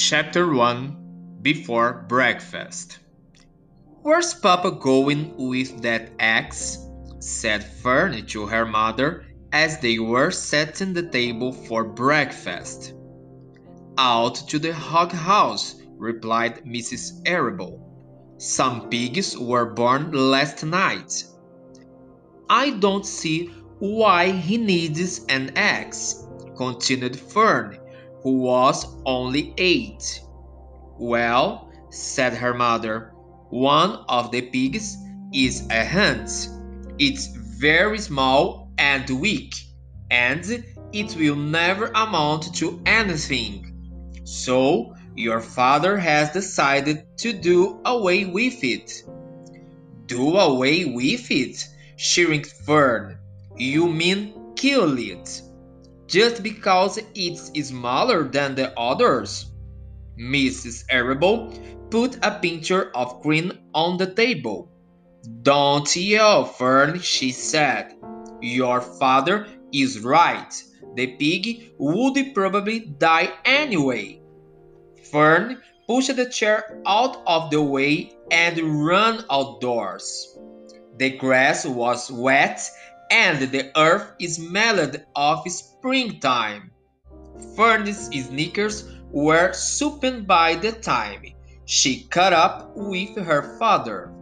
Chapter 1 Before Breakfast. "Where's Papa going with that axe?" said Fern to her mother as they were setting the table for breakfast. "Out to the hog house," replied Mrs. Arable. "Some pigs were born last night." "I don't see why he needs an axe," continued Fern, who was only 8. "Well," said her mother, "one of the pigs is a hunt. It's very small and weak, and it will never amount to anything. So your father has decided to do away with it." "Do away with it?" shrieked Fern. "You mean kill it, just because it's smaller than the others?" Mrs. Arable put a pitcher of cream on the table. "Don't yell, Fern," she said. "Your father is right. The pig would probably die anyway." Fern pushed the chair out of the way and ran outdoors. The grass was wet and the earth smelled of springtime. Fern's sneakers were sopping by the time she caught up with her father.